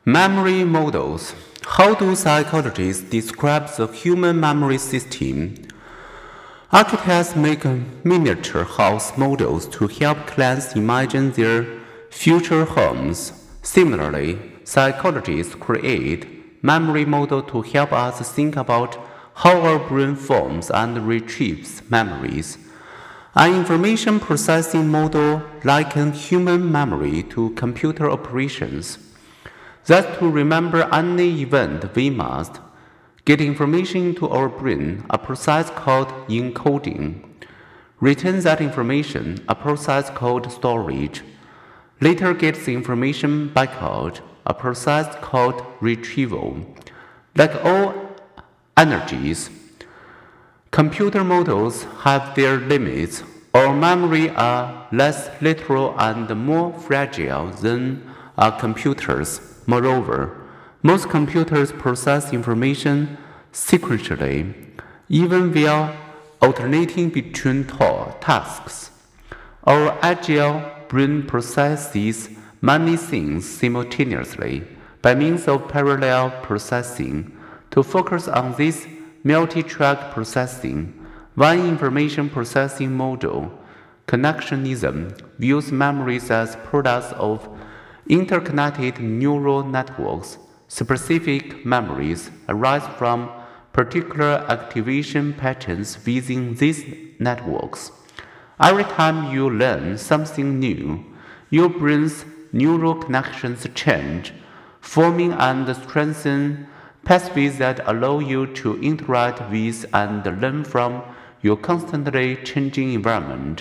Memory models. How do psychologists describe the human memory system? Architects make miniature house models to help clients imagine their future homes. Similarly, psychologists create memory models to help us think about how our brain forms and retrieves memories. An information processing model likens human memory to computer operations. That to remember any event, we must get information into our brain, a process called encoding. Retain that information, a process called storage. Later get the information back out, a process called retrieval. Like all energies, computer models have their limits. Our memory are less literal and more fragile than computers. Moreover, most computers process information sequentially, even while alternating between tasks. Our agile brain processes many things simultaneously by means of parallel processing. To focus on this multi-track processing, one information processing model, connectionism, views memories as products of interconnected neural networks. Specific memories arise from particular activation patterns within these networks. Every time you learn something new, your brain's neural connections change, forming and strengthening pathways that allow you to interact with and learn from your constantly changing environment.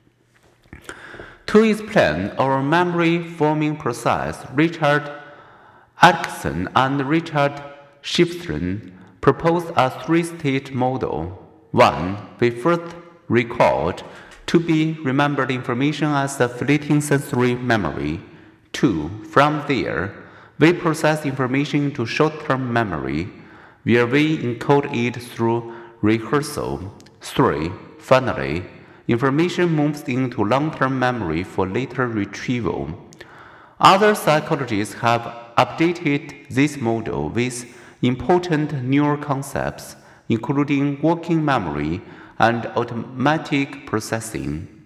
To explain our memory-forming process, Richard Atkinson and Richard Shifrin proposed a three-stage model. 1. We first record to be remembered information as a fleeting sensory memory. 2. From there, we process information into short-term memory, where we encode it through rehearsal. 3. Finally, information moves into long-term memory for later retrieval. Other psychologists have updated this model with important newer concepts, including working memory and automatic processing.